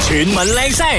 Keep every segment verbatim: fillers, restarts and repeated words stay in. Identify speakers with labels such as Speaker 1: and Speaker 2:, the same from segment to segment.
Speaker 1: 全民靚聲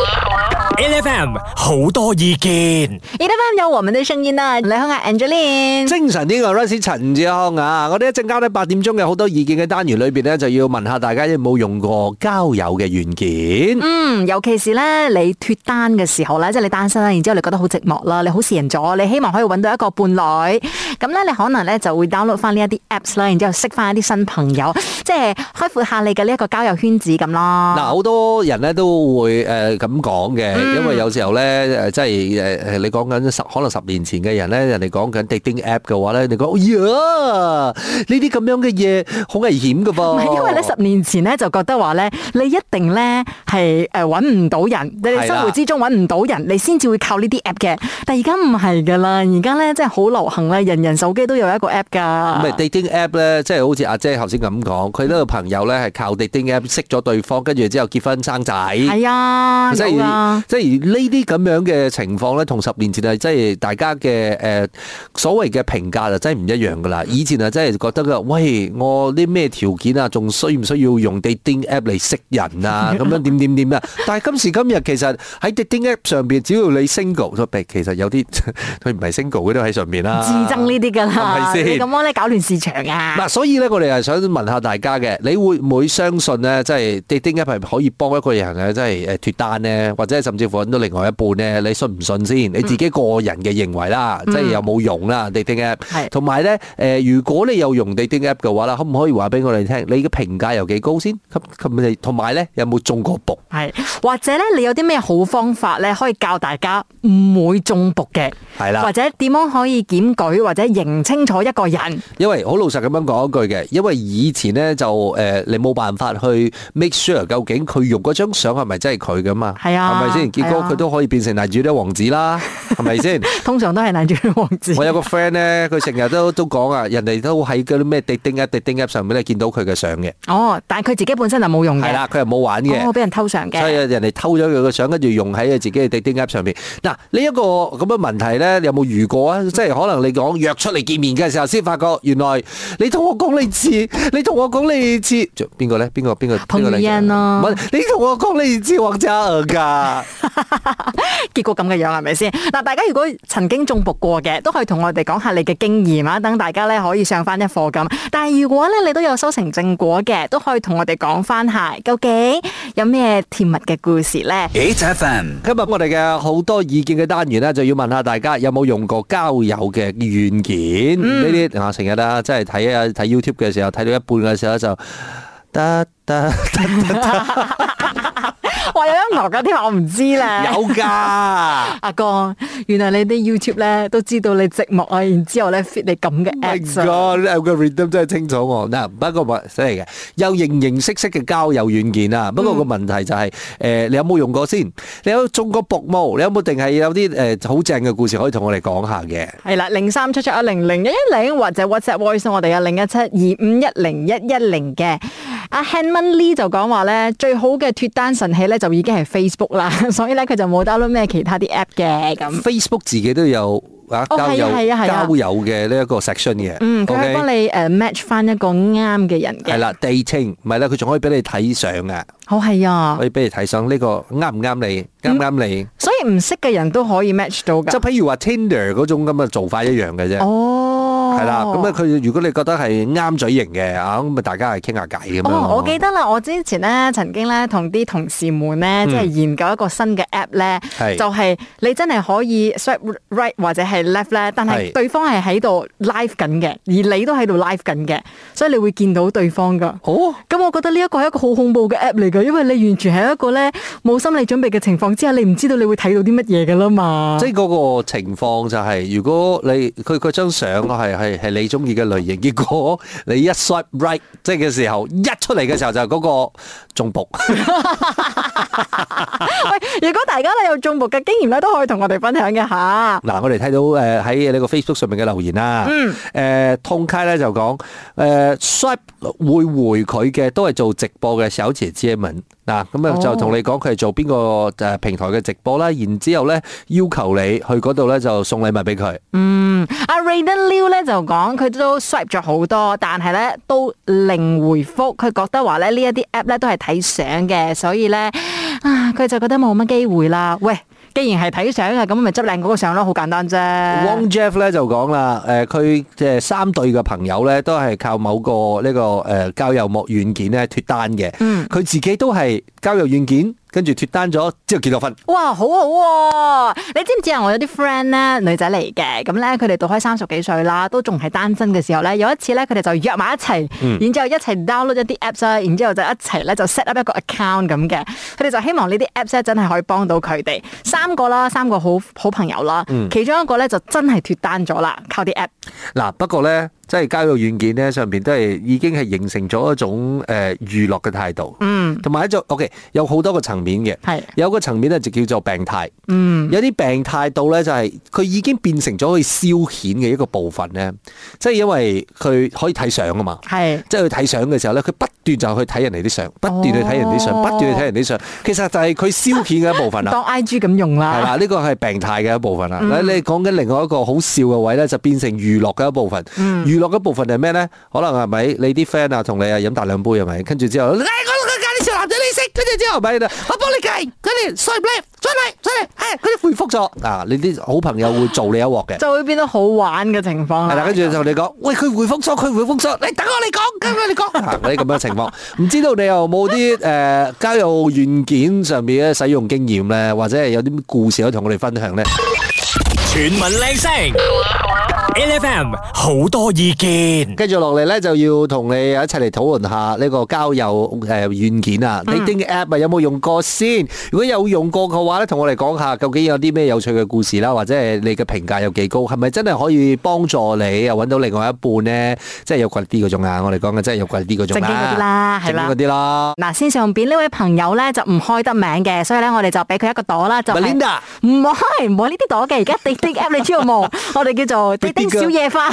Speaker 1: ，L F M 好多意見
Speaker 2: ，L F M 有我們的聲音啊！你好啊 ，Angeline，
Speaker 3: 精神啲嘅 Royce 陳志康啊！我哋一陣間咧八點鐘嘅好多意見嘅單元裏邊咧，就要問下大家有冇用過交友嘅軟件？
Speaker 2: 嗯，尤其是咧你脫單嘅時候咧，即係你單身啦，然之後你覺得好寂寞啦，你好閒咗，你希望可以揾到一個伴侶，咁咧你可能咧就會 download 翻呢一啲 apps 啦，然之後識翻一啲新朋友，即係開闊下你嘅呢一個交友圈子咁咯。
Speaker 3: 嗱，好多人咧都會誒咁講嘅，嗯、因為有時候咧誒，即係誒誒，你講緊十可能十年前嘅人咧，人哋講緊 dating app 嘅話咧，你講，哎呀，呢啲咁樣嘅嘢好危險噶噃。唔係，因為咧十年前咧就覺得話咧，你一定咧係誒揾唔到人，你生活之中揾唔到人，你先至會靠呢啲 app 嘅。但係而家唔係噶啦，而家咧真係好流行咧，人人手機都有一個 app 噶。唔係 dating app 咧，即係好似阿姐頭先咁講，佢呢個朋友咧係靠 dating app 識咗對方，跟住之後結婚生仔。係啊，即係、啊、即係呢啲咁樣嘅情況咧，同十年前係即係大家嘅誒、呃、所謂嘅評價就真係唔一樣噶啦。以前啊真係覺得噶，喂，我啲咩條件啊，仲需唔需要用 dating app 嚟識人啊？咁樣點點點啊？但係今時今日其實喺 dating app 上邊，只要你 single， 其實有啲佢唔係 single 嗰啲喺上邊啦。自憎呢啲噶啦，係咪先？你咁樣咧搞亂市場啊！嗱，所以咧我哋係想問下大家嘅，你會唔會相信咧？即係 dating app 係可以幫一個人咧，即係誒脫單咧，或者甚至乎揾到另外一半咧？你信唔信先？你自己個人嘅認為啦，嗯、即係有冇用啦 dating app。係。同埋咧，誒，如果你有用 dating app 嘅話啦，可唔可以話俾我哋聽？你嘅評價有幾高先？咁咁同埋咧，有冇中過毒？係。或者咧，你有啲咩好方法咧，可以教大家唔會中毒嘅？係啦。或者點樣可以檢舉或者認清楚一個人？因為好老實咁樣講一句嘅，因為以前咧就誒、呃，你冇辦法去 make sure 究竟佢用嗰張相係咪真係佢噶嘛？係啊，係咪先？結果佢都可以變成男主角王子啦，係咪先？通常都係男主角王子。我有個 friend 咧，佢成日都都講啊，人哋都喺嗰啲咩 dating app dating app 上面咧見到佢嘅相嘅。哦，但係佢自己本身就冇用嘅。係啦，佢又冇玩嘅。哦，俾人偷相嘅。所以人哋偷咗佢嘅相，跟住用喺佢自己嘅 dating app 上面。嗱，呢一個咁嘅問題咧，你有冇遇過啊？即係可能你講約出嚟見面嘅時候，先發覺原來你同我講你似，你同我講你似，邊個咧？邊個邊個？彭于晏咯。唔係，你同我講你似黃家娥㗎。結果咁嘅樣係咪先？嗱，大家如果曾經中毒過嘅，都可以同我哋講下你嘅經驗啊，等大家咧可以上翻一課咁。但係如果咧你都有修成正果嘅，都可以同我哋講翻下，究竟有咩甜蜜嘅故事咧 ？H F M 今日我哋嘅好多意見嘅單元咧，就要問下大家有冇用過交友嘅軟件？呢啲啊成日啦，即係睇啊睇 YouTube 嘅時候，睇到一半嘅時候就得得得得。話有音樂噶添，我唔知咧。有噶，阿哥，原來你啲 YouTube 咧都知道你寂寞啊，然之後咧 fit 你咁嘅 apps。My God， 個 rhythm 真係清楚我。嗱，不過話真係嘅，有形形色色嘅交友軟件啊。不過個問題就係，誒，你有冇用過先？你有中過毒冇？你有冇定係有啲誒好正嘅故事可以同我哋講下嘅？係啦，零三七七一零零一一零或者 WhatsApp voice 我哋有零一七二五一零一一零嘅。阿 Hanman Lee 就講話咧，最好嘅脫單神器咧就已經係 Facebook 啦，所以咧佢就冇 download 咩其他啲 app 嘅咁。Facebook 自己都有啊交友交友嘅呢一個 section 嘅，嗯，佢可以幫你誒 match 翻一個啱嘅人嘅。係啦 ，dating 唔係啦，佢仲可以俾你睇相啊。好係啊，可以俾你睇相呢個啱唔啱你，啱唔啱你。所以唔識嘅人都可以 match 到噶。即係譬如話 Tinder 嗰種咁嘅做法一樣嘅啫。哦。係啦，咁咧佢如果你覺得係啱嘴型嘅啊，咁咪大家係傾下偈咁樣。哦，我記得啦，我之前咧曾經咧同啲同事們咧，即係研究一個新嘅 app 咧，就係你真係可以 swipe right 或者係 left 咧，但係對方係喺度 live 緊嘅，而你都喺度 live 緊嘅，所以你會見到對方噶。哦，咁我覺得呢一個係一個好恐怖嘅 app 嚟噶，因為你完全係一個咧冇心理準備嘅情況之下，你唔知道你會睇到啲乜嘢噶啦嘛。即係嗰個情況就係，如果你佢佢張相係係。係係你中意嘅類型，結果你一 swipe right 即係嘅時候，一出嚟嘅時候就係嗰個中毒。喂，如果大家咧有中毒嘅經驗咧，都可以同我哋分享嘅吓。嗱，我哋睇到誒喺呢個 Facebook 上面嘅留言啦。嗯。誒，通街咧就講誒 swipe 會回佢嘅都係做直播嘅小姐姐們。嗱，咁啊就同你講佢係做邊個誒平台嘅直播啦，然之後咧要求你去嗰度咧就送禮物俾佢。嗯，阿 Rayden Liu 咧就
Speaker 2: 就講佢都 swipe 咗好多，但係咧都零回覆。佢覺得話咧呢一啲 app 咧都係睇相嘅，所以咧啊佢就覺得冇乜機會啦。喂！既然係睇相嘅，咁咪執靚嗰個相咯，好簡單啫。
Speaker 3: Wong Jeff 咧就講啦，誒佢誒三對嘅朋友咧都係靠某個呢個誒交友網軟件咧脫單嘅。嗯，佢自己都係交友軟件。跟住脫單咗之後結咗婚。哇，
Speaker 2: 好好喎！你知唔知啊？我有啲 friend 咧，女仔嚟嘅，咁咧佢哋到開三十幾歲啦，都仲係單身嘅時候咧，有一次咧佢哋就約埋一齊，嗯、然之後一齊 download 一啲 apps 啦，然之後就一齊咧就 set up 一個 account 咁嘅。佢哋就希望呢啲 apps 咧真係可以幫到佢哋。三個啦，三個好好朋友啦，嗯、其中一個咧就真係脫單咗啦，靠啲 app。
Speaker 3: 嗱，不過咧。即係交友軟件咧，上邊都係已經係形成咗一種誒娛樂嘅態度，嗯，同埋一種 OK 有好多個層面嘅，係有個層面咧就叫做病態，嗯，有啲病態到咧就係佢已經變成咗可以消遣嘅一個部分咧，即係因為佢可以睇相啊嘛，係，即係佢睇相嘅時候咧，佢不斷就去睇人哋啲相，不斷去睇人哋啲相，不斷去睇人哋啲相，其實就係佢消遣嘅一部分啦，
Speaker 2: 當 I G 咁用啦，
Speaker 3: 係啦，呢個係病態嘅一部分啦。你你講緊另外一個好笑嘅位咧，就變成娛樂嘅一部分，娛樂嘅部分係咩咧？可能係咪你啲 friend 啊同你啊飲大兩杯係咪？跟住之後，誒我我介啲小男仔你識，跟住之後咪我幫你計，跟住 swipe left，再嚟再嚟，誒佢哋回覆咗啊！你啲好朋友會做你一鑊嘅，
Speaker 2: 就會變到好玩嘅情況。
Speaker 3: 係啦，跟住就同你講，喂佢回覆咗，佢回覆咗，你等我嚟講，跟住你講啊！嗰啲咁樣情況，唔知道你有冇啲誒交友軟件上面嘅使用經驗咧，或者係有啲故事可以同我哋分享咧？
Speaker 1: 全民靚聲 ，L F M 好多意見。
Speaker 3: 跟住落嚟咧，就要同你一齊嚟討論下呢個交友誒軟件啊 dating app 啊，有冇用過先？如果有用過嘅話咧，同我哋講下究竟有啲咩有趣嘅故事啦，或者係你嘅評價有幾高？係咪真係可以幫助你又揾到另外一半咧？即係有貴啲嗰種啊！我哋講嘅真係有貴啲嗰種啦，
Speaker 2: 正經嗰啲啦，係啦，
Speaker 3: 正經嗰啲啦。
Speaker 2: 嗱，線上邊呢位朋友咧就唔開得名嘅，所以咧我哋就俾佢一個朵啦，就係
Speaker 3: Melinda，
Speaker 2: 唔係唔係呢啲朵嘅，而家 dating app 你知道冇？我哋叫做 dating 小野花。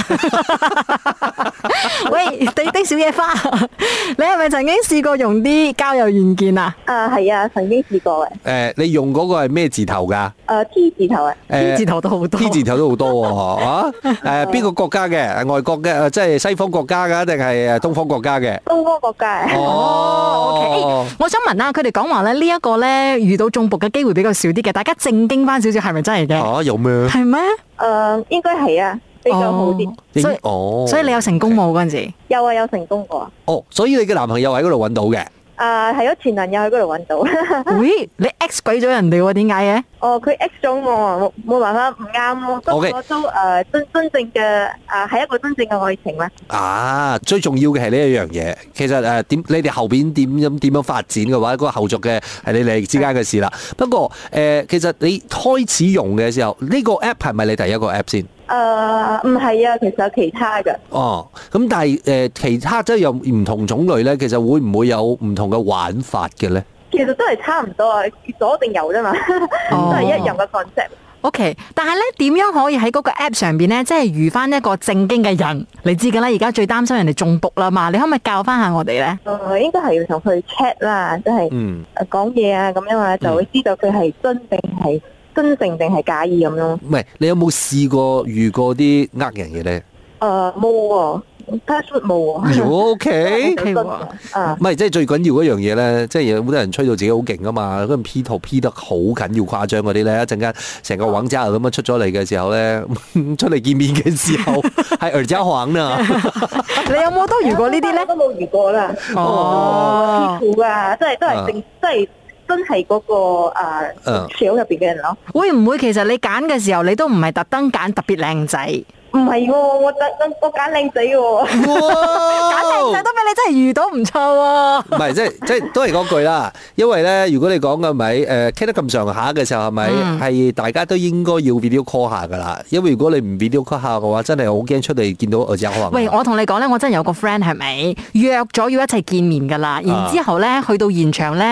Speaker 2: 喂 dating 小野花，你係咪曾經試過用啲交友軟件啊？
Speaker 4: 啊，係啊，曾經試過嘅。
Speaker 3: 誒，你用嗰個係咩字頭㗎？
Speaker 4: 誒 T 字頭啊
Speaker 2: ，T 字頭都好多
Speaker 3: ，T 字頭都好多喎，啊？誒，邊個國家嘅？外國嘅，即係西方國家㗎，定係誒東方國家嘅？
Speaker 4: 東方國家。
Speaker 2: 哦，OK。我想問下，佢哋講話咧呢一個咧遇到中毒嘅機會比較少啲嘅，大家正經翻少少，係咪真係嘅？
Speaker 3: 啊，有咩？
Speaker 2: 係咩？
Speaker 4: 誒，應該係啊，比較好啲。
Speaker 2: 所以，哦，所以你有成功冇嗰陣時？
Speaker 4: 有啊，有成功過。
Speaker 3: 哦，所以你嘅男朋友喺嗰度揾到嘅？
Speaker 4: 啊，係咯，前男友喺嗰度揾到。
Speaker 2: 喂，你 X 鬼咗人哋喎？點解嘅？
Speaker 4: 哦，佢 X 咗我，冇冇辦法，唔啱咯。不過都誒真真正嘅誒係一個真正嘅愛情咧。
Speaker 3: 啊，最重要嘅係呢一樣嘢。其實誒點你哋後邊點樣點樣發展嘅話，嗰個後續嘅係你哋之間嘅事啦。不過誒，其實你開始用嘅時候，呢個 app 係咪你第一個 app 先？
Speaker 4: 誒唔係啊，其實有其他嘅。哦，
Speaker 3: 咁但係誒其他即係有唔同種類咧，其實會唔會有唔同嘅玩法嘅咧？
Speaker 4: 其實都係差唔多啊，左定右啫嘛，都係一樣嘅 concept。
Speaker 2: OK， 但係咧點樣可以喺嗰個 app 上邊咧，即係遇翻一個正經嘅人？你知噶啦，而家最擔心人哋中毒啦嘛，你可唔可以教翻下我哋咧？
Speaker 4: 誒，應該係要同佢 chat 啦，即係誒講嘢啊，咁樣啊，就會知道佢係真定係真正定係假意咁樣。
Speaker 3: 唔係，你有冇試過遇過啲呃人嘅咧？
Speaker 4: 誒，冇喎。password 冇喎。
Speaker 3: O K，啊，唔係，即係最緊要嗰樣嘢咧，即係有好多人吹到自己好勁啊嘛，嗰陣 P 圖 P 得好緊要誇張嗰啲咧，一陣間成個黃渣咁樣出咗嚟嘅時候咧，出嚟見面嘅時候係耳膠黃啊！
Speaker 2: 你有冇都遇過呢啲咧？
Speaker 4: 都冇遇過啦。哦 ，P 圖啊，即係都係正，即係真係嗰個誒小入邊嘅人咯。
Speaker 2: 會唔會其實你揀嘅時候，你都唔係特登揀特別靚仔？
Speaker 4: 唔係喎，我特我揀靚仔喎，
Speaker 2: 揀靚仔都俾你真係遇到唔錯喎。
Speaker 3: 唔係，即係即係都係嗰句啦。因為咧，如果你講嘅咪誒傾得咁上下嘅時候，係咪係大家都應該要 video call 下噶啦？因為如果你唔 video call 下嘅話，真係好驚出嚟見到耳仔可能。
Speaker 2: 喂，我同你講咧，我真係有個 friend 係咪約咗要一齊見面噶啦？然之後咧去到現場咧。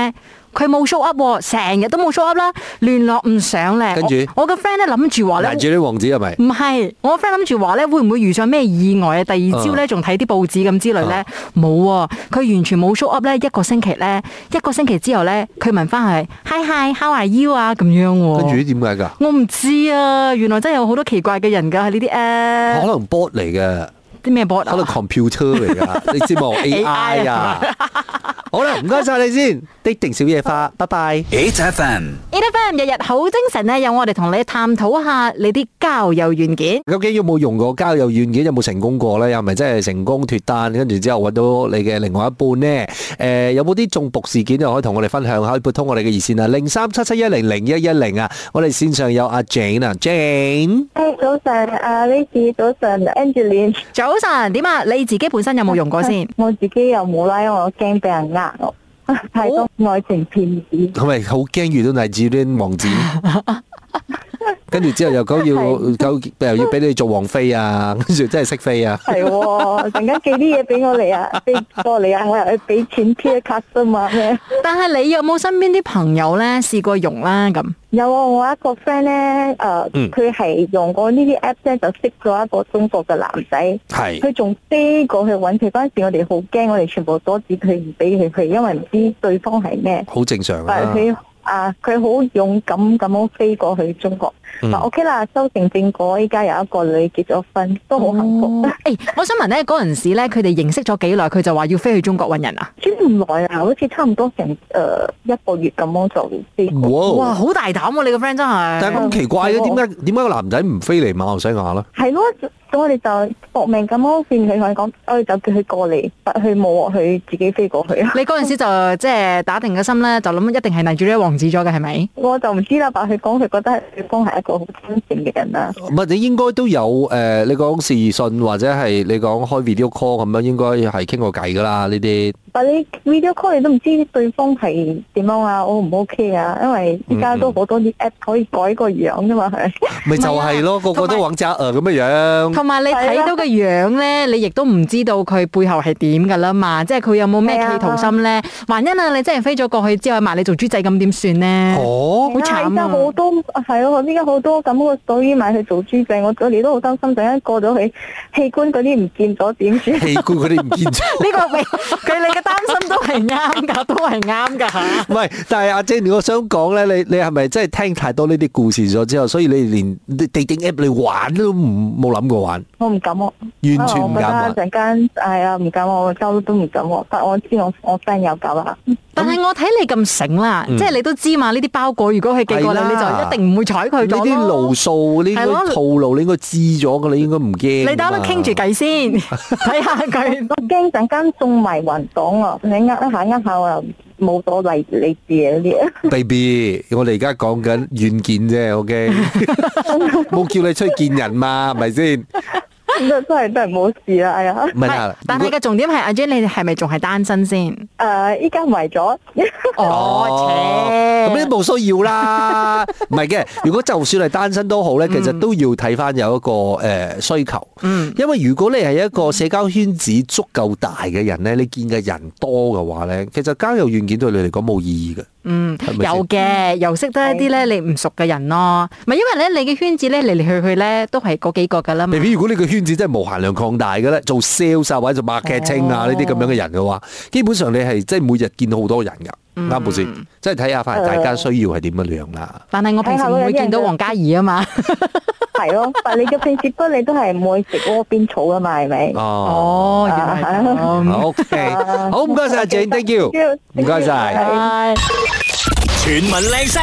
Speaker 2: 佢冇 show up，成日都冇 show up 啦，聯絡唔上咧。
Speaker 3: 跟住
Speaker 2: 我個 friend 咧諗住話咧，
Speaker 3: 攔住啲王子係咪？
Speaker 2: 唔係，我個 friend 諗住話咧，會唔會遇上咩意外啊？第二朝咧仲睇啲報紙咁之類咧，冇啊！佢完全冇 show up 咧，一個星期咧，一個星期之後咧，佢問翻係 Hi Hi How are you 啊咁樣喎。
Speaker 3: 跟住點解㗎？
Speaker 2: 我唔知啊，原來真係有好多奇怪嘅人㗎，係呢啲誒。
Speaker 3: 可能 bot 嚟嘅。
Speaker 2: 啲咩 bot 啊？
Speaker 3: 可能 computer 嚟㗎，你知冇 A I 啊？好啦，唔該晒你先，滴定小野花，拜拜。
Speaker 1: H F M，H
Speaker 2: F M 日日好精神咧，有我哋同你探討下你啲交友軟件。
Speaker 3: 究竟有冇用過交友軟件？有冇成功過咧？又咪真係成功脫單？跟住之後揾到你嘅另外一半呢？誒、呃，有冇啲中毒事件又可以同我哋分享下？可以撥通我哋嘅熱線啊，零三七七一零零一一零啊。我哋線上有阿 Jane 啊 ，Jane。
Speaker 4: 誒，早晨，阿 Lady，早晨 ，Angeline。
Speaker 2: 早晨，點啊？你自己本身有冇用過先？
Speaker 4: 我自己又冇啦，因為我驚俾人呃我。太多愛情騙子，
Speaker 3: 係咪好驚遇到黎智英王子？跟住之後又講要又要俾你做王妃啊，跟住真係識飛啊！
Speaker 4: 係喎，陣間寄啲嘢俾我嚟啊，飛過嚟啊，我又去俾錢 pay card 啫嘛咩？
Speaker 2: 但係你有冇身邊啲朋友咧試過用啦咁？
Speaker 4: 有啊，我一個 friend 咧，誒、呃，佢係、嗯、用過呢啲 app 咧，就識咗一個中國嘅男仔。係。佢仲飛過去揾佢嗰陣時，我哋好驚，我哋全部阻止佢唔俾佢去，因為唔知對方係咩。好正常啊。但係佢啊，佢好勇敢咁樣飛過去中國。嗯、OK 啦，修成正果，依家有一個女結咗婚，都好幸福。誒、哦
Speaker 2: 欸，我想問咧，嗰陣時咧，佢哋認識咗幾耐？佢就話要飛去中國揾人啊？
Speaker 4: 唔耐啊，好似差唔多成誒、呃、一個月咁樣就飛過。
Speaker 2: 哇，好大膽喎、啊！你個 friend 真係。但係咁奇怪嘅，點解點解個男仔唔飛嚟馬來西亞咧？係咯。
Speaker 4: 咁我哋就搏命咁樣勸佢，同佢講，我哋就叫佢過嚟，佢冇佢自己飛過去啊！
Speaker 2: 你嗰陣時就即係打定個心咧，就諗一定係黎住呢個王子咗嘅，係咪？
Speaker 4: 我就唔知啦，但佢講佢覺得對方係一個好真誠嘅人啦。
Speaker 3: 唔係，你應該都有誒、呃，你講視訊或者係你講開 video call 咁樣，應該係傾過偈噶啦呢啲。
Speaker 4: 但你 video call 你都唔知對方係點樣啊？O 唔 OK 啊？因為依家都好多啲 app 可以改個樣噶嘛，係
Speaker 3: 咪就係咯，個個都揾渣誒咁嘅樣。
Speaker 2: 同埋你睇到個樣咧，你亦都唔知道佢背後係點噶啦嘛，即係佢有冇咩企圖心咧？萬一啊，你真係飛咗過去之後賣你做豬仔咁點算咧？哦，好慘啊！依家好多
Speaker 4: 係咯，依家好多咁個所以買去做豬仔，我我哋都好擔心，陣間過咗去器官嗰啲唔見咗點算？器官嗰啲唔見咗？呢個未佢你嘅擔心都係啱噶，都係啱噶吓。
Speaker 3: 唔係，但係阿 Jenny，我想講咧，你你係咪真係聽太多呢啲故事咗之後，所以你連 dating app 你玩都唔冇諗過玩？我唔敢喎，完全唔敢玩。陣間係啊，唔敢我周都唔敢喎，但我知我我 friend 有搞啦。
Speaker 2: 但係我睇你咁醒啦，即係你都知嘛？呢啲包裹如果佢寄過嚟，你就一定唔會睬佢咗咯。呢啲路數，呢啲套路，你應該知咗噶，你應該唔驚。你等我傾住計先，睇下佢。我驚陣間中埋雲檔啊！你呃一下呃下我又冇咗嚟你字嗰啲。Baby，我哋而家講緊軟件啫，OK，冇叫你出去見人嘛，係咪先？真係真係冇事啦，哎呀！唔係，但係個重點係阿 Jane，你係咪仲係單身先？誒，依家為咗。哦，咁你冇需要啦。唔係嘅，如果就算係單身都好咧，其實都要睇翻有一個誒需求。嗯。因為如果你係一個社交圈子足夠大嘅人咧，你見嘅人多嘅話咧，其實交友軟件對你嚟講冇意義嘅。嗯，有嘅，又識得一啲咧你唔熟嘅人咯。唔係因為咧你嘅圈子咧嚟嚟去去咧都係嗰幾個噶啦嘛。如果你嘅圈子真係無限量擴大嘅咧，做 sales 啊或者做 marketing 啊呢啲咁樣嘅人嘅話，基本上你係即係每日見到好多人噶。啱冇先，即係睇下翻大家需要係點樣樣啦。但係我平時唔會見到黃嘉怡啊嘛。係咯，但係你嘅平時不你都係唔會食窩邊草噶嘛，係咪？哦，原來係咁。O K，好唔該晒 Jane，thank you，唔該晒。全民靚聲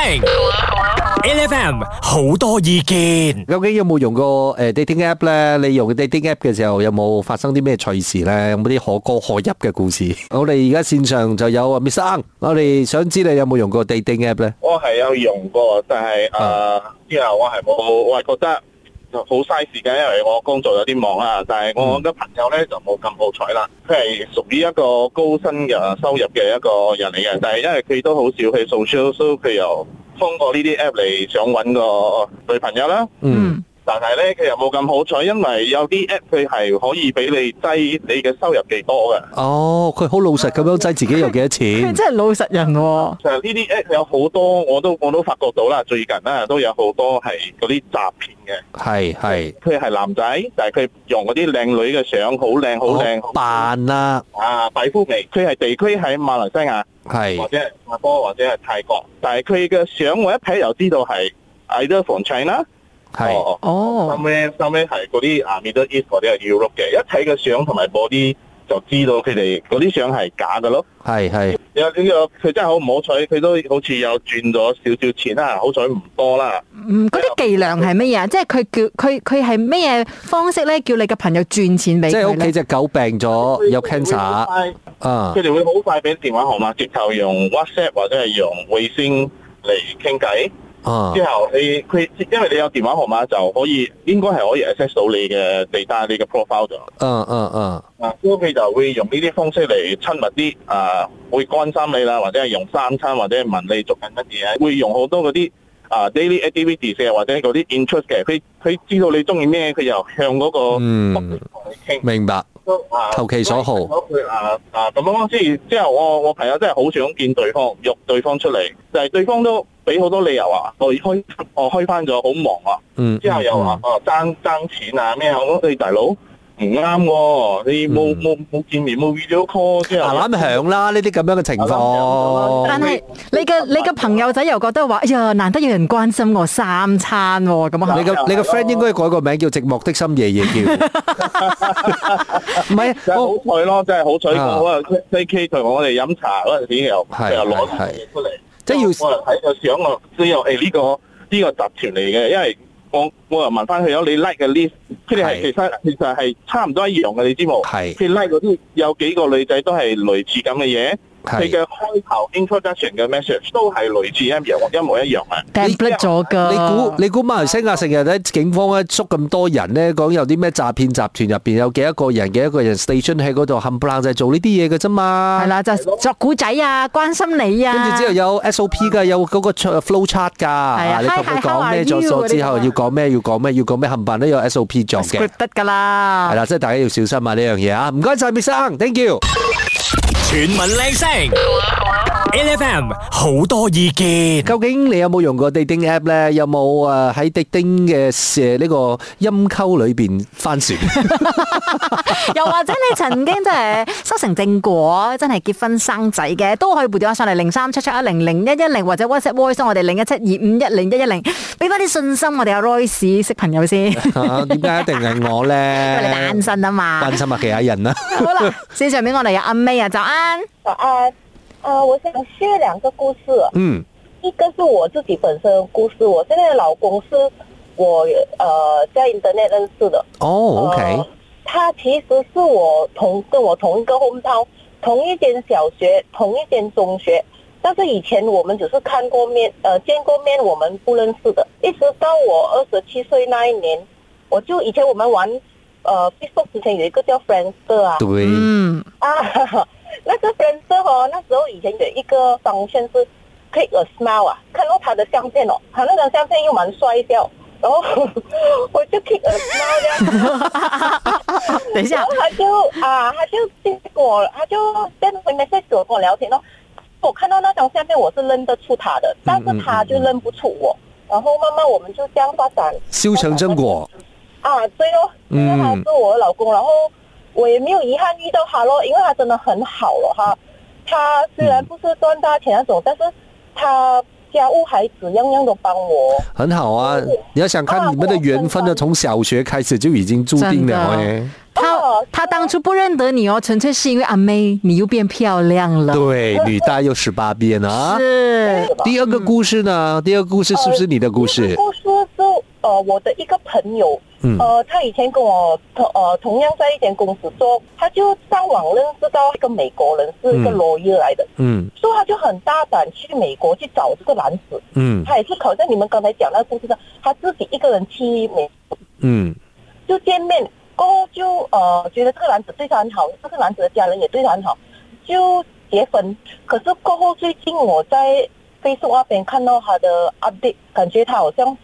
Speaker 2: ，L F M 好多意見。究竟有冇用過誒 dating app 咧？你用 dating app 嘅時候有冇發生啲咩趣事咧？有冇啲可歌可泣嘅故事？我哋而家線上就有啊 Miss Ang，我哋想知你有冇用過 dating app 咧？我係有用過，但係誒之後我係冇，我係覺得好嘥時間，因為我工作有啲忙啦。但係我嘅朋友咧就冇咁好彩啦，佢係屬於一個高薪嘅收入嘅一個人嚟嘅，但係因為佢都好少去 social，所以佢又通過呢啲 app 嚟想搵個女朋友啦。嗯，
Speaker 5: 但係咧，佢又冇咁好彩，因為有啲 app 佢係可以俾你擠你嘅收入幾多嘅。
Speaker 3: 哦，佢好老實咁樣擠自己有幾多錢。
Speaker 2: 佢真係老實人喎、哦。
Speaker 5: 其實呢啲 app 有好多，我都我都發覺到啦。最近咧都有好多係嗰啲詐騙嘅。係係。佢係男仔，但係佢用嗰啲靚女嘅相，好靚好靚。扮啦。啊，擺夫眉。佢係地區喺馬來西亞，係或者係新加坡或者係泰國，但係佢嘅相我一睇就知道係 either from China。係哦，後尾後尾係嗰啲啊 Middle East 或者係 Europe 嘅，一睇個相同埋 body 就知道佢哋嗰啲相係假嘅咯。係係，有呢個佢真係好唔好彩，佢都好似有賺咗少少錢啦，好彩唔多啦。
Speaker 2: 嗯，嗰啲伎倆係乜嘢啊？即係佢叫佢佢係咩嘢方式咧？叫你嘅朋友轉錢俾佢咧？即係屋企隻狗病咗，有 cancer 啊！佢哋會好快俾電話號碼，直頭用 WhatsApp 或者係用微信嚟傾偈。Uh, 之後你佢因為你有電話號碼就可以應該係可以 access 到你嘅 data 你嘅 profile 咗。嗯嗯嗯。啊，咁佢就會用呢啲方式嚟親密啲，啊，會關心你啦，或者係用三餐，或者係問你做緊乜嘢，會用好多嗰啲啊 daily activities 嘅，或者嗰啲 interest 嘅，佢佢知道你中意咩，佢又向嗰個嗯同你傾。明白。投其所好。啊啊咁樣，即係之後我我朋友真係好想見對方，約對方出嚟，就係、是、對方都俾好多理由啊，我開我開翻咗，好忙啊。嗯。之後又話哦爭爭錢啊咩啊，我講你大佬唔啱喎，你冇冇冇見面冇 video call 之後。啱響啦，呢啲咁樣嘅情況。但係你嘅你嘅朋友仔又覺得話，哎呀難得有人關心我三餐喎，咁啊。
Speaker 3: 你嘅你嘅 friend 應該改個名叫寂寞的深夜夜叫。唔係，
Speaker 5: 真係好彩咯，真係好彩。我啊 K K 同我哋飲茶嗰陣時又又攞啲嘢出嚟，即係要我睇個相我知道誒呢個呢個集團嚟嘅，因為我我又問翻佢有你 like 嘅 list，佢哋係其實其實係差唔多一樣嘅，你知冇？係佢 like 嗰啲有幾個女仔都係類似咁嘅嘢。佢嘅開頭 introduction 嘅 message 都係類似一樣一模一樣啊
Speaker 2: template 咗㗎。
Speaker 3: 你估你估馬來西亞成日咧警方咧捉咁多人咧，講有啲咩詐騙集團入邊有幾多個人幾多個人 station 喺嗰度冚唪唥就係做呢啲嘢嘅啫嘛。係
Speaker 2: 啦，就作古仔啊，關心你啊。
Speaker 3: 跟住之後有 S O P 㗎，有嗰個 flow chart 㗎。係啊，你同佢講咩咗咗之後要講咩要講咩要講咩冚唪唥都有 S O P 作嘅。
Speaker 2: 得㗎啦。
Speaker 3: 係啦，即係大家要小心啊呢樣嘢啊！唔該曬 Miss Ang，thank you。
Speaker 1: 全民靚聲 ，L F M 好多意見。
Speaker 3: 究竟你有冇用過 dating app 咧？有冇誒喺 dating 嘅誒呢個陰溝裏邊翻船？
Speaker 2: 又或者你曾經真係修成正果，真係結婚生仔嘅，都可以撥電話上嚟零三七七一零零一一零，或者 WhatsApp voice 我哋零一七二五一零一一零，俾翻啲信心我哋阿 Royce 識朋友先。
Speaker 3: 點解一定係我咧？
Speaker 2: 因為你單身啊嘛。
Speaker 3: 關心下其他人啦。
Speaker 2: 好啦，線上面我哋有阿 May 啊，早安。
Speaker 6: 早安，呃，我想 share 兩個故事。
Speaker 3: 嗯，
Speaker 6: 一個是我自己本身的故事，我現在的老公是我呃在 internet 認識的。
Speaker 3: 哦 ，OK、呃。
Speaker 6: 他其實是我同跟我同一個 hometown，同一間小學，同一間中學，但是以前我們只是看過面，呃，見過面，我們不認識的。一直到我二十七歲那一年，我就以前我們玩，呃 Facebook 之前有一個叫 Friendster 啊。
Speaker 3: 對。嗯。
Speaker 6: 啊。那個 Friendster 哦，那時候以前有一個方向是 click a smile 啊，看到他的相片哦，他那張相片又蠻帥的，然後我就 click a smile 這樣。
Speaker 2: 等一下，
Speaker 6: 然後他就啊，他就跟我，他就在微 message 跟我聊天咯。我看到那張相片，我是認得出他的，但是他就認不出我。然後慢慢我們就這樣發展，
Speaker 3: 修成正果。
Speaker 6: 啊，對咯，因為他是我的老公，然後。我也沒有遺憾遇到他咯，因為他真的很好咯，哈。他雖然不是賺大錢那種，但是他家務孩子樣樣都幫我。很好啊，
Speaker 3: 你要想看你們的緣分呢，從小學開始就已經注定了誒。
Speaker 2: 他他當初不認得你哦，純粹是因為阿妹你又變漂亮了。
Speaker 3: 對，女大又十八變啊。是。第二個故事呢？第二個故事是不是你的故事？
Speaker 6: 故事是呃我的一個朋友。
Speaker 3: 嗯，
Speaker 6: 呃，他以前跟我同呃同樣在一間公司做，他就上網認識到一個美國人，是一個 lawyer 來的，嗯，所以他就很大膽去美國去找這個男子，嗯，他也是好像你們剛才講那個故事上，他自己一個人去美國，嗯，就見面過後就呃覺得這個男子對他很好，這個男子的家人也對他很好，就結婚。可是過後最近我在 Facebook 那邊看到他的 update，感覺他好像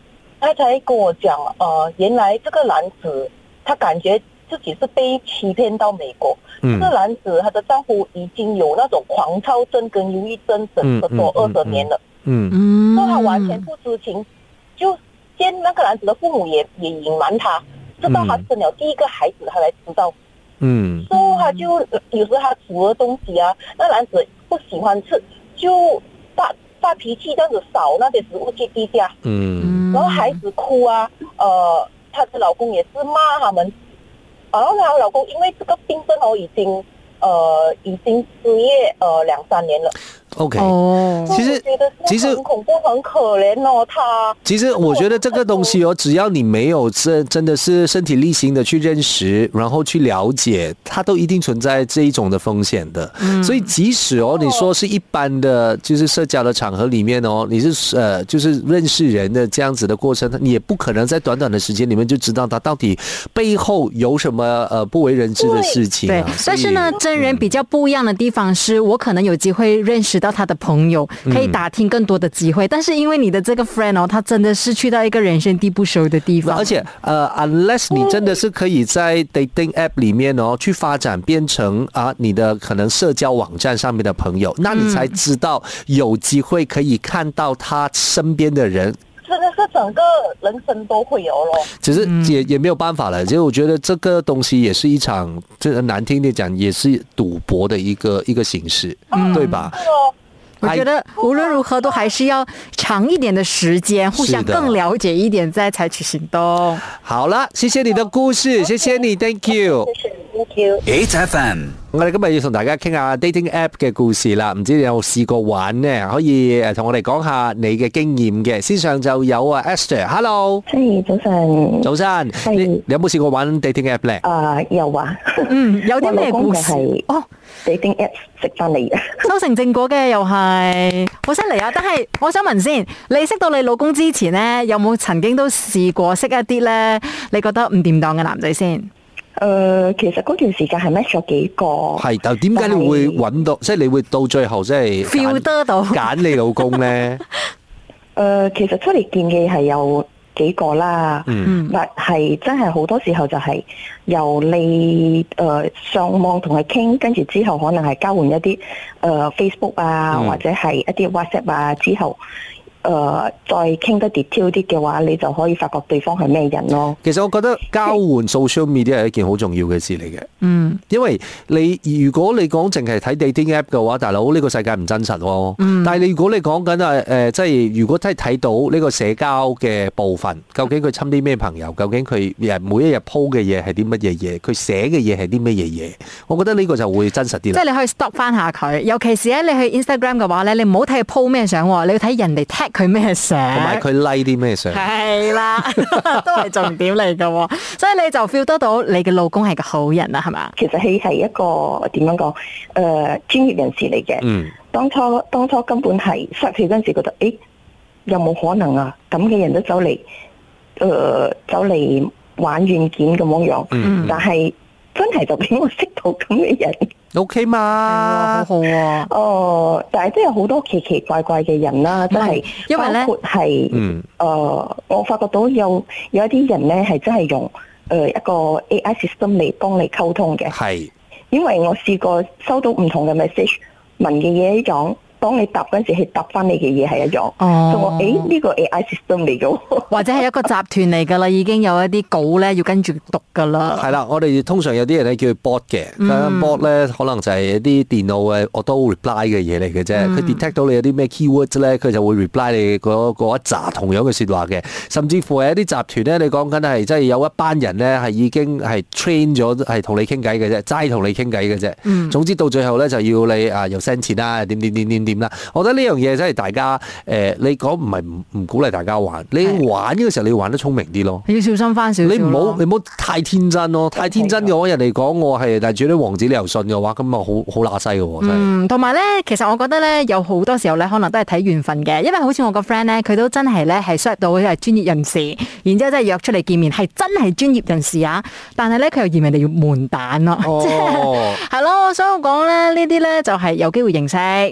Speaker 6: 他才跟我讲，呃，原来这个男子他感觉自己是被欺骗到美国。嗯、这个男子他的丈夫已经有那种狂躁症跟忧郁症整个多二十年了。嗯嗯，所以他完全不知情，就见那个男子的父母也也隐瞒他，直到他生了第一个孩子，他才知道。嗯，所以他就有时他煮的东西啊，那男子不喜欢吃，就发发脾气，这样子扫那些食物去地下。嗯，然后孩子哭啊，呃，她的老公也是骂他们。然后她老公因为这个病症哦，已经呃已经失业呃两三年了。
Speaker 3: OK， 哦，其实其实
Speaker 6: 很恐怖，很可怜哦。他
Speaker 3: 其实我觉得这个东西哦，只要你没有真真的是身体力行的去认识，然后去了解，它都一定存在这一种的风险的。嗯、所以即使哦，你说是一般的，就是社交的场合里面哦，你是呃就是认识人的这样子的过程，你也不可能在短短的时间里面就知道他到底背后有什么呃不为人知的事情、啊。
Speaker 2: 对，但是呢，真人比较不一样的地方是，我可能有机会认识到他的朋友，可以打听更多的机会、嗯、但是因为你的这个 friend 哦，他真的是去到一个人生地不熟的地方，
Speaker 3: 而且呃 unless 你真的是可以在 dating app 里面哦去发展变成啊你的可能社交网站上面的朋友，那你才知道有机会可以看到他身边的人，
Speaker 6: 真的是整个人生都会有咯。
Speaker 3: 只是也也没有办法了。其实我觉得这个东西也是一场，这难听点讲，也是赌博的一个一个形式，嗯、对吧？
Speaker 2: 我觉得无论如何都还是要长一点的时间，互相更了解一点，再采取行動。
Speaker 3: 好了，謝謝你的故事，謝謝你 ，Thank you。
Speaker 6: Thank you。
Speaker 1: eight F M，
Speaker 3: 我哋今日要同大家傾下 dating app 嘅故事啦，唔知你有冇試過玩呢？可以誒同我哋講下你嘅經驗嘅。線上就有啊 Esther，Hello。
Speaker 4: 係早晨。
Speaker 3: 早晨。你你有冇試過玩 dating app 咧？
Speaker 4: 啊、uh, 有啊。
Speaker 2: 嗯，有啲咩故事？
Speaker 4: 哦。dating app 食翻嚟嘅，
Speaker 2: 修成正果嘅又係好犀利啊！但係我想問先，你識到你老公之前咧，有冇曾經都試過識一啲咧？你覺得唔掂當嘅男仔先？誒、
Speaker 4: 呃，其實嗰段時間係 match 咗幾個，
Speaker 3: 係，但點解你會揾到，即係你會到最後即係
Speaker 2: feel 得到
Speaker 3: 揀你老公咧？誒、
Speaker 4: 呃，其實出嚟見嘅係有幾個啦，嗯，但係真係好多時候就係由你誒、呃、上網同佢傾，跟住之後可能係交換一啲誒、呃、Facebook 啊，嗯、或者係一啲 WhatsApp 啊，之後誒、呃、再傾得 detail 啲嘅話，你就可以發覺對方係咩人咯。
Speaker 3: 其實我覺得交換 social media 係一件好重要嘅事嚟嘅，嗯，因為你如果你講淨係睇 dating app 嘅話，大佬呢、呢個世界唔真實喎，嗯，但係你如果你講緊誒誒，即係如果真係睇到呢個社交嘅部分，究竟佢親啲咩朋友，究竟佢每一日 po 嘅嘢係啲乜嘢嘢，佢寫嘅嘢係啲乜嘢嘢，我覺得呢個就會真實啲啦。
Speaker 2: 即係你可以 stop 翻下佢，尤其是咧你去 Instagram 嘅話咧，你唔好睇佢 po 咩相，你要睇人哋 tag 佢咩相，
Speaker 3: 同埋佢 like 啲咩相，
Speaker 2: 係啦，都係重點嚟噶，所以你就 feel 得到你嘅老公係個好人啦，係嘛？
Speaker 4: 其實佢係一個點樣講？誒、呃，專業人士嚟嘅。嗯。當初當初根本係識佢嗰陣時覺得，誒，有冇可能啊？咁嘅人都走嚟，誒、呃，走嚟玩軟件咁樣樣。嗯。但係真係就俾我識到咁嘅人。
Speaker 3: O K 嘛，
Speaker 2: 好好啊。
Speaker 4: 哦、呃，但係都有好多奇奇怪怪嘅人啦，真係包括係，誒、嗯呃，我發覺到有有一啲人咧係真係用誒、呃、一個 A I system 嚟幫你溝通嘅。係，因為我試過收到唔同嘅 message， 問嘅嘢一樣，當你答嗰陣時係答翻你嘅嘢係一樣。哦，所以我誒呢個 A I system 嚟嘅，
Speaker 2: 或者係一個集團嚟㗎啦，已經有一啲稿咧要跟住讀㗎啦。
Speaker 3: 係啦，我哋通常有啲人咧叫佢 bot 嘅，咁 bot 咧可能就係一啲電腦嘅 auto reply 嘅嘢嚟嘅啫。佢 detect 到你有啲咩 keywords 咧，佢就會 reply 你嗰嗰一紮同樣嘅説話嘅。甚至乎係一啲集團咧，你講緊係即係有一班人咧係已經係 train 咗係同你傾偈嘅啫，齋同你傾偈嘅啫。嗯，總之到最後咧就要你啊又 send 錢啦，點點點點點啦。我覺得呢樣嘢真係大家誒、呃，你講唔係唔唔鼓勵大家玩，你玩呢個時候你要玩得聰明啲咯，
Speaker 2: 你要小心翻少少。
Speaker 3: 你唔好你唔好太天真咯，太天真嘅話，人哋講我係但係住啲王子你又信嘅話，咁啊好好乸西嘅喎。
Speaker 2: 嗯，同埋咧，其實我覺得咧，有好多時候咧，可能都係睇緣分嘅，因為好似我個 friend 咧，佢都真係咧係 search 到佢係專業人士，然之後真係約出嚟見面，係真係專業人士啊！但係咧，佢又嫌人哋要門蛋咯，即係係咯。所以我講咧，呢啲咧就係有機會認識，不過咧。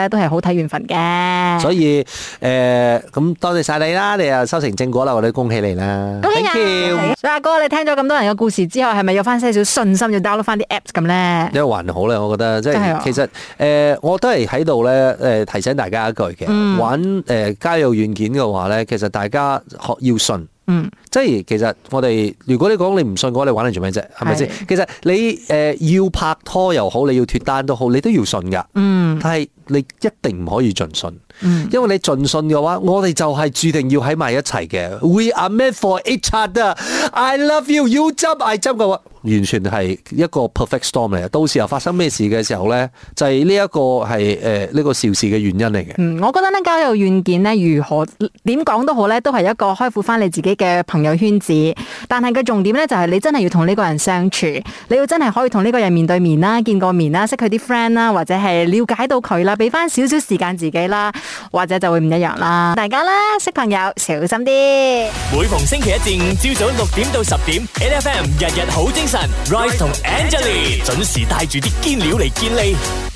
Speaker 2: 咧，都係好睇緣分嘅。
Speaker 3: 所以誒，咁、呃、多謝晒你啦，你又收成正果啦，我哋恭喜你啦，
Speaker 2: 恭喜啊！所以阿哥，你聽咗咁多人嘅故事之後，係咪有翻些少信心要 download 翻啲 apps 咁咧？
Speaker 3: 因為還好咧，我覺得即係其實誒、呃，我都係喺度咧誒提醒大家一句嘅，嗯、玩誒、呃、交友軟件嘅話咧，其實大家學要信。嗯，即係其實我哋如果你講你唔信嘅話，你玩嚟做咩啫？係咪先？其實你誒、呃、要拍拖又好，你要脫單都好，你都要信噶。嗯，但係你一定唔可以盡信。嗯，因為你盡信嘅話，我哋就係注定要喺埋一齊嘅。We are meant for each other. I love you. You jump, I jump 嘅話，完全係一個 perfect storm 嚟嘅。到時候發生咩事嘅時候咧，就係呢一個係誒呢個肇事嘅原因嚟嘅。嗯，
Speaker 2: 我覺得咧交友軟件咧，如何點講都好咧，都係一個開闊翻你自己嘅朋友圈子。但係個重點咧，就係你真係要同呢個人相處，你要真係可以同呢個人面對面啦，見過面啦，識佢啲 friend 啦，或者係了解到佢啦，俾翻少少時間自己啦。或者就會唔一樣啦，大家啦，識朋友小心啲。
Speaker 1: 每逢星期一至五朝早六點到十點 ，N F M 日日好精神 ，Rise 同 Angelie 準時帶住啲堅料嚟健利。